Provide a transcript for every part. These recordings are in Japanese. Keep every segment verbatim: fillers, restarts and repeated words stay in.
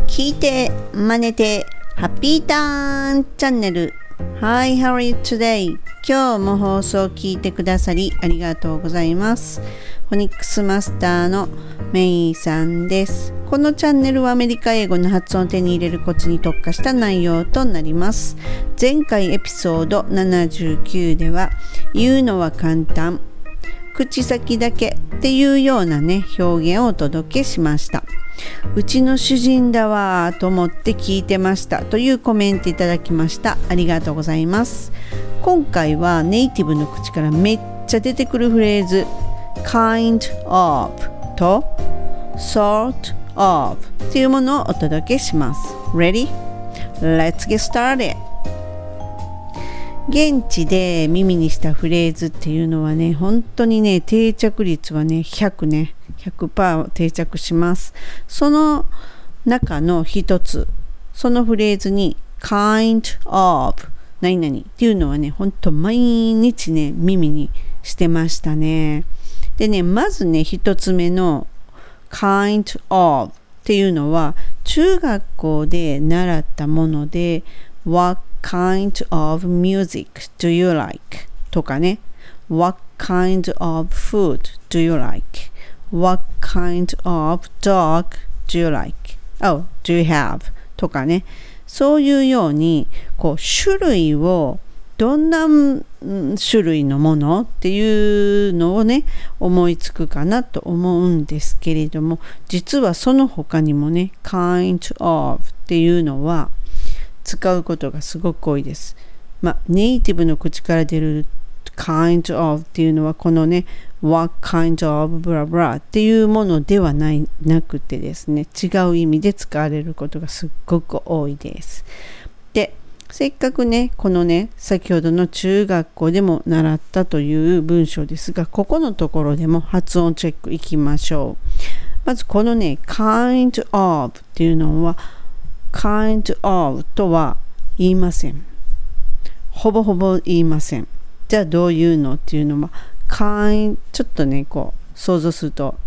聞いて真似てハッピーターンチャンネル。 Hi, how are you today? 今日も放送を聞いてくださりありがとうございます。フォニックスマスターのメイさんです。このチャンネルはアメリカ英語の発音を手に入れるコツに特化した内容となります。前回エピソードななじゅうきゅうでは言うのは簡単、口先だけっていうようなね表現をお届けしました。うちの主人だわと思って聞いてましたというコメントいただきました。ありがとうございます。今回はネイティブの口からめっちゃ出てくるフレーズ kind of と sort of っていうものをお届けします。 Ready? Let's get started。現地で耳にしたフレーズっていうのはね、本当にね、定着率はね、ひゃくね、ひゃくパーセント 定着します。その中の一つ、そのフレーズに kind of 何々っていうのはね、本当毎日ね、耳にしてましたね。でね、まずね、一つ目の kind of っていうのは、中学校で習ったもので、What kind of music do you like? とかね What kind of food do you like? What kind of dog do you like? Oh, do you have? とかね、そういうようにこう種類をどんな種類のものっていうのをね思いつくかなと思うんですけれども、実はその他にもね kind of っていうのは使うことがすごく多いです。まあ、ネイティブの口から出る kind of っていうのはこのね what kind of blah blah っていうものではないなくてですね、違う意味で使われることがすっごく多いです。で、せっかくねこのね先ほどの中学校でも習ったという文章ですが、ここのところでも発音チェックいきましょう。まずこのね kind of っていうのはkind of とは言いません。ほぼほぼ言いません。じゃあどういうのっていうのは kind ちょっとねこう想像すると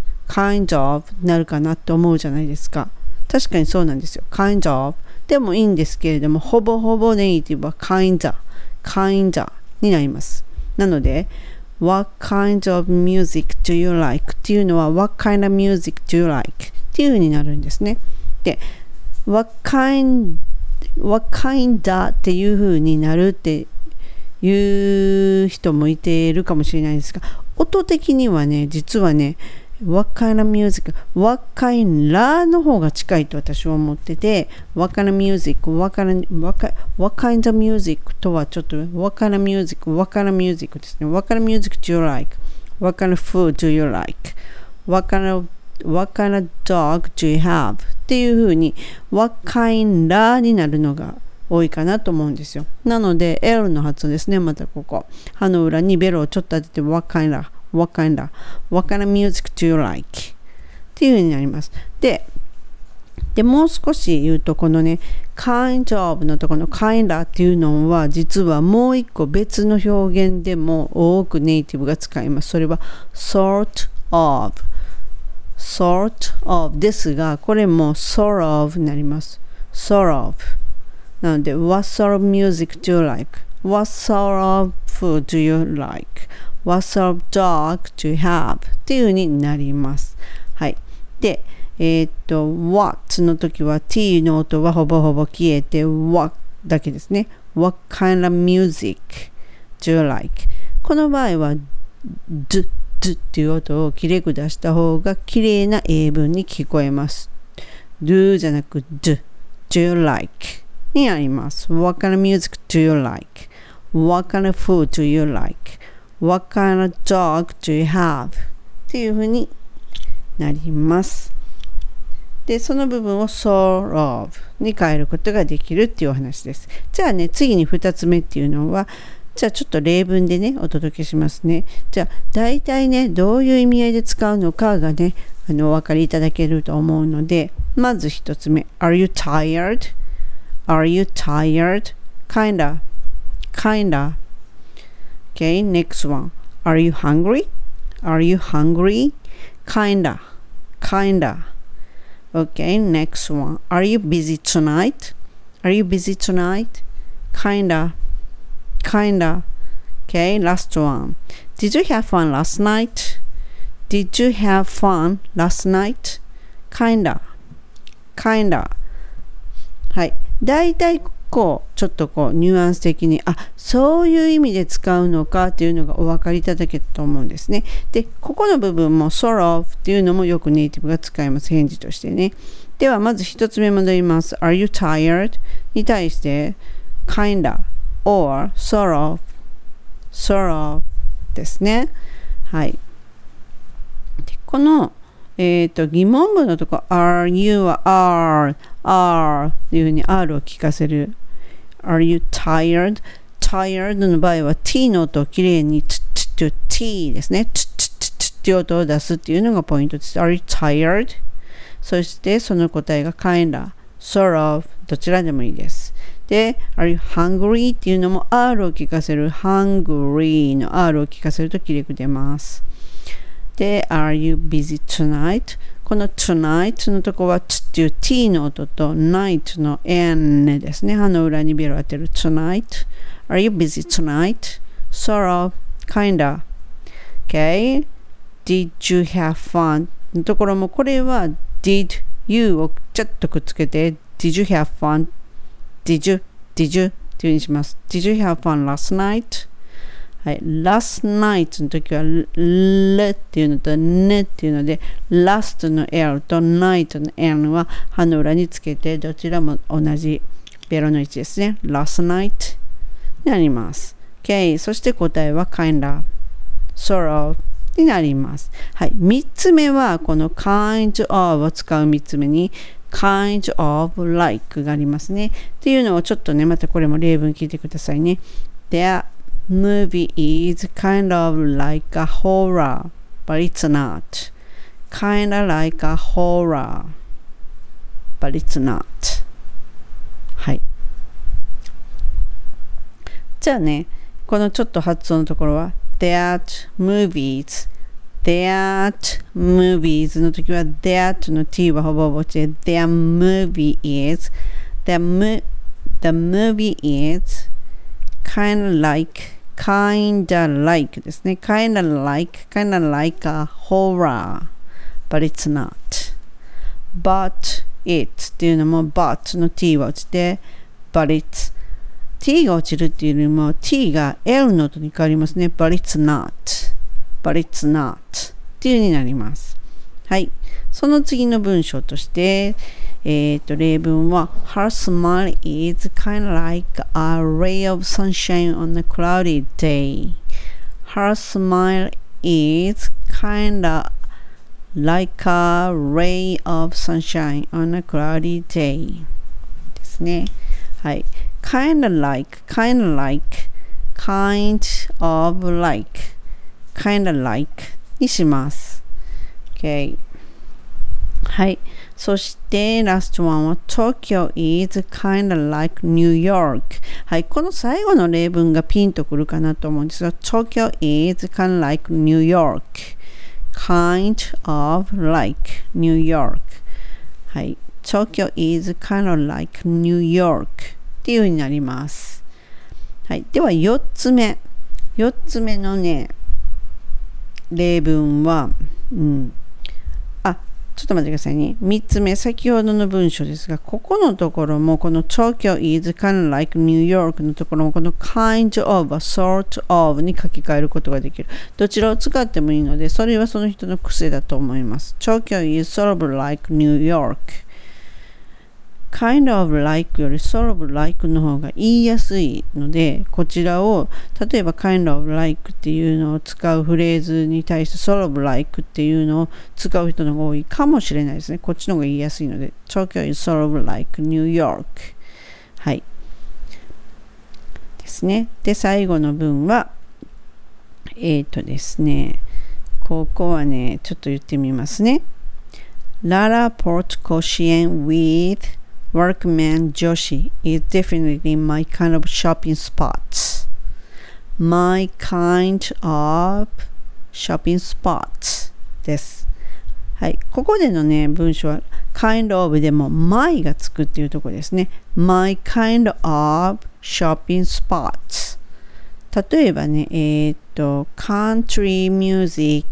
kind of になるかなって思うじゃないですか。確かにそうなんですよ。kind of でもいいんですけれども、ほぼほぼネイティブは kinda kinda になります。なので What kind of music do you like っていうのは What kind of music do you like っていう風になるんですね。でWhat kind, what kind っていう風になるっていう人もいているかもしれないですが、音的にはね、実はね、What kind of music, What kind の方が近いと私は思ってて、What kind of music, What kind, what, what kind of music とはちょっと What kind of music, What kind of music ですね。What kind of music do you like? What kind of food do you like? What kind of What kind of dog do you have? っていう風に What kind になるのが多いかなと思うんですよ。なので L の発音ですね。またここ歯の裏にベロをちょっと当てて What kind What kind What kind of music do you like? っていう風になります。で、でもう少し言うとこのね kind of のところの kind っていうのは実はもう一個別の表現でも多くネイティブが使います。それは sort of sort of ですが、これも sort of になります。sort of なので What sort of music do you like? What sort of food do you like? What sort of dog do you have? っていう風になります。はい。で、えー、っと What の時は T の音はほぼほぼ消えて What だけですね。What kind of music do you like? この場合は Doっていう音をきれく出した方がきれいな英文に聞こえます。do じゃなく do, do you like になります。What kind of music do you like? What kind of food do you like? What kind of dog do you have? っていう風になります。で、その部分を sort of に変えることができるっていうお話です。じゃあね、次にふたつめっていうのはじゃあちょっと例文でねお届けしますね。じゃあ大体ねどういう意味合いで使うのかがねあのお分かりいただけると思うので、まず一つ目 Are you tired? Are you tired? Kinda Kinda Okay, next one Are you hungry? Are you hungry? Kinda Kinda Okay, next one. Are you busy tonight? Are you busy tonight? Kinda. Kinda. Okay, last one. Did you have fun last night? Did you have fun last night? Kinda. Kinda. はい。だいたいこう、ちょっとこう、ニュアンス的に、あ、そういう意味で使うのかっていうのがお分かりいただけたと思うんですね。で、ここの部分も sort of っていうのもよくネイティブが使います。返事としてね。では、まず一つ目戻ります。Are you tired? に対して、kinda or sort of, sort of ですね。はい。でこの、えっと、疑問文のとこ、are you は are, are っていうふうに R を聞かせる。Are you tired? Tired の場合は t の音をきれいに t, t, t, t ですね。t, t, t, t っていう音を出すっていうのがポイントです。Are you tired? そしてその答えが kinda, sort of どちらでもいいです。で、Are you hungry? っていうのも R を聞かせる hungry の R を聞かせるときれく出ます。で、Are you busy tonight? この tonight のとこは t っていう t の音と night の n ですね。歯の裏にベロ当てる tonight. Are you busy tonight? Sort of, kinda. Okay. Did you have fun? のところもこれは did you をちょっとくっつけて Did you have fun? Did you? Did you? っていう風にします。Did you have fun last night? はい、last night の時は l っていうのと n っていうので last の l と night の n は歯の裏につけてどちらも同じベロの位置ですね。last night になります。Okay、そして答えは kinda, sort of になります。はい、みっつめはこの kind of を使うみっつめにkind of like がありますね。っていうのをちょっとね、またこれも例文聞いてくださいね。Their movie is kind of like a horror, but it's not. Kinda like a horror, but it's not. はい。じゃあね、このちょっと発音のところは That movies That movies の時は That の t はほぼほぼして Their movie is The, mo- the movie is kind of like kinda like ですね。kinda like kinda like a horror but it's not. But it っていうのも but の t は落ちて but it's t が落ちるっていうよりも t が l の音に変わりますね。but it's not but it's not っていう風になります。はい。その次の文章として、えっと、例文は Her smile is kind of like a ray of sunshine on a cloudy day. Her smile is kind of like a ray of sunshine on a cloudy day. ですね。はい。kind of like, kind of like, kind of like, kind of like にします。Okay。はい。そして、ラストワンは Tokyo is kind of like New York。はい。この最後の例文がピンとくるかなと思うんですが、Tokyo is kind of like New York。kind of like New York。はい。Tokyo is kind of like New York っていう風になります。はい。では、よっつめ。よっつ目のね、例文は、うん。あ、ちょっと待ってくださいね。みっつめ、先ほどの文章ですが、ここのところも、この Tokyo is kind of like New York のところも、この kind of は sort of に書き換えることができる。どちらを使ってもいいので、それはその人の癖だと思います。Tokyo is sort of like New York。kind of like より sort of like の方が言いやすいので、こちらを例えば kind of like っていうのを使うフレーズに対して sort of like っていうのを使う人の方が多いかもしれないですね。こっちの方が言いやすいので Tokyo is sort of like New York。 はいですね。で、最後の文はえっとですね、ここはね、ちょっと言ってみますね。Lara Port Koshien with Workman Joshi is definitely my kind of shopping spot. My kind of shopping spot です。はい。ここでのね、文章は kind of でも my がつくっていうところですね。my kind of shopping spots。例えばね、えー、っと、country music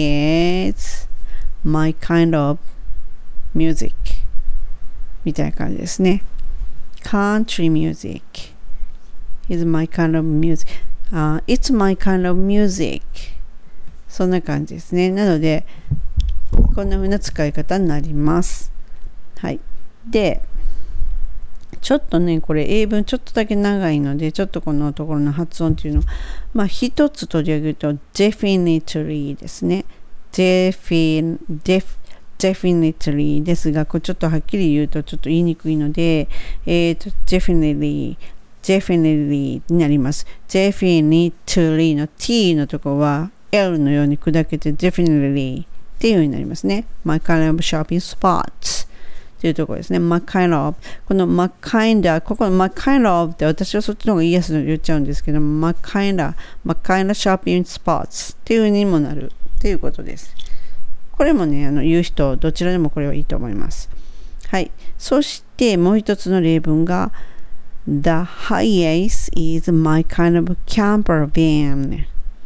is my kind of music みたいな感じですね。country music is my kind of music、uh, it's my kind of music そんな感じですね。なのでこんな風な使い方になります。はい。でちょっとねこれ英文ちょっとだけ長いのでちょっとこのところの発音っていうのをまあ一つ取り上げると definitely ですね。defin def definitely ですが、これちょっとはっきり言うとちょっと言いにくいので、えっと definitely definitely になります。definitely の t のところは l のように砕けて definitely っていうようになりますね。my kind of shopping spotsというところですね。my kind of この my kind of ここの my kind of って私はそっちの方が言いやすいの言っちゃうんですけど my kind of my kind of shopping spots っていう風にもなるっていうことです。これもねあの言う人どちらでもこれはいいと思います。はい。そしてもう一つの例文が The highest is my kind of camper van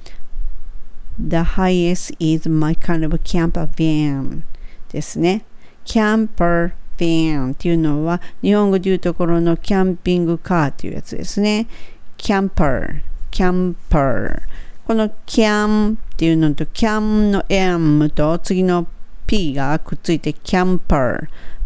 The highest is my kind of camper van ですね。camper van っていうのは日本語でいうところのキャンピングカーっていうやつですね。camper camper この cam っていうのと cam の m と次の p がくっついて camper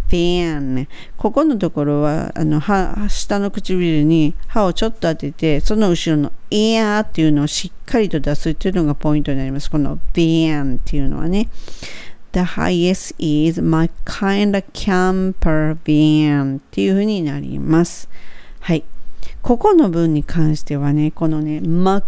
van ここのところはあの歯下の唇に歯をちょっと当ててその後ろの air っていうのをしっかりと出すっていうのがポイントになります。この van っていうのはねThe highest is my kind of camper van っていう風になります。はい。ここの文に関してはね、このね、my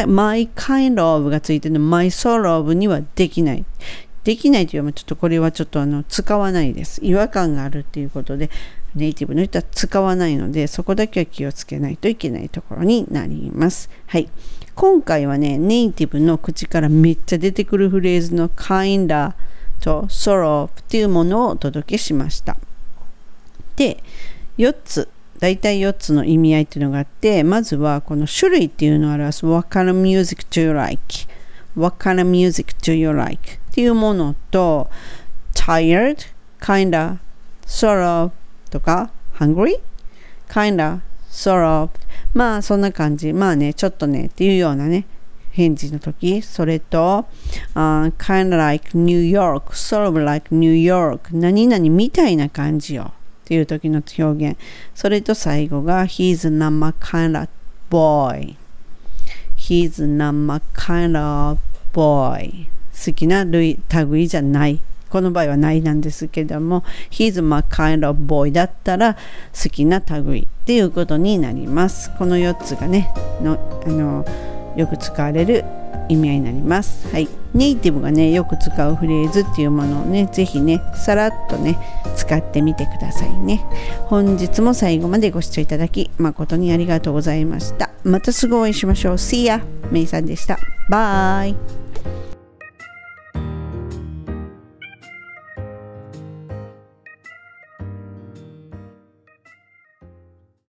kind of がついてるの my sort of にはできない。できないというのはちょっとこれはちょっとあの使わないです。違和感があるっていうことで、ネイティブの人は使わないので、そこだけは気をつけないといけないところになります。はい。今回はね、ネイティブの口からめっちゃ出てくるフレーズの kindaと sort of っていうものをお届けしました。で、よっつ、だいたいよっつの意味合いっていうのがあって、まずはこの種類っていうのを表す What kind of music do you like? What kind of music do you like? っていうものと tired, kinda, sort of とか hungry, kinda, sort of まあそんな感じ。まあね、ちょっとねっていうようなね返事の時、それと、uh, kind of like New York, sort of like New York 何々みたいな感じよっていう時の表現。それと最後が He's not my kind of boy He's not my kind of boy 好きな類類じゃないこの場合はないなんですけども He's my kind of boy だったら好きな類っていうことになります。このよっつがねのあのよく使われる意味合いになります。はい。ネイティブがねよく使うフレーズっていうものをねぜひねさらっとね使ってみてくださいね。本日も最後までご視聴いただき誠にありがとうございました。またすぐお会いしましょう。See ya! メイさんでした。バイ。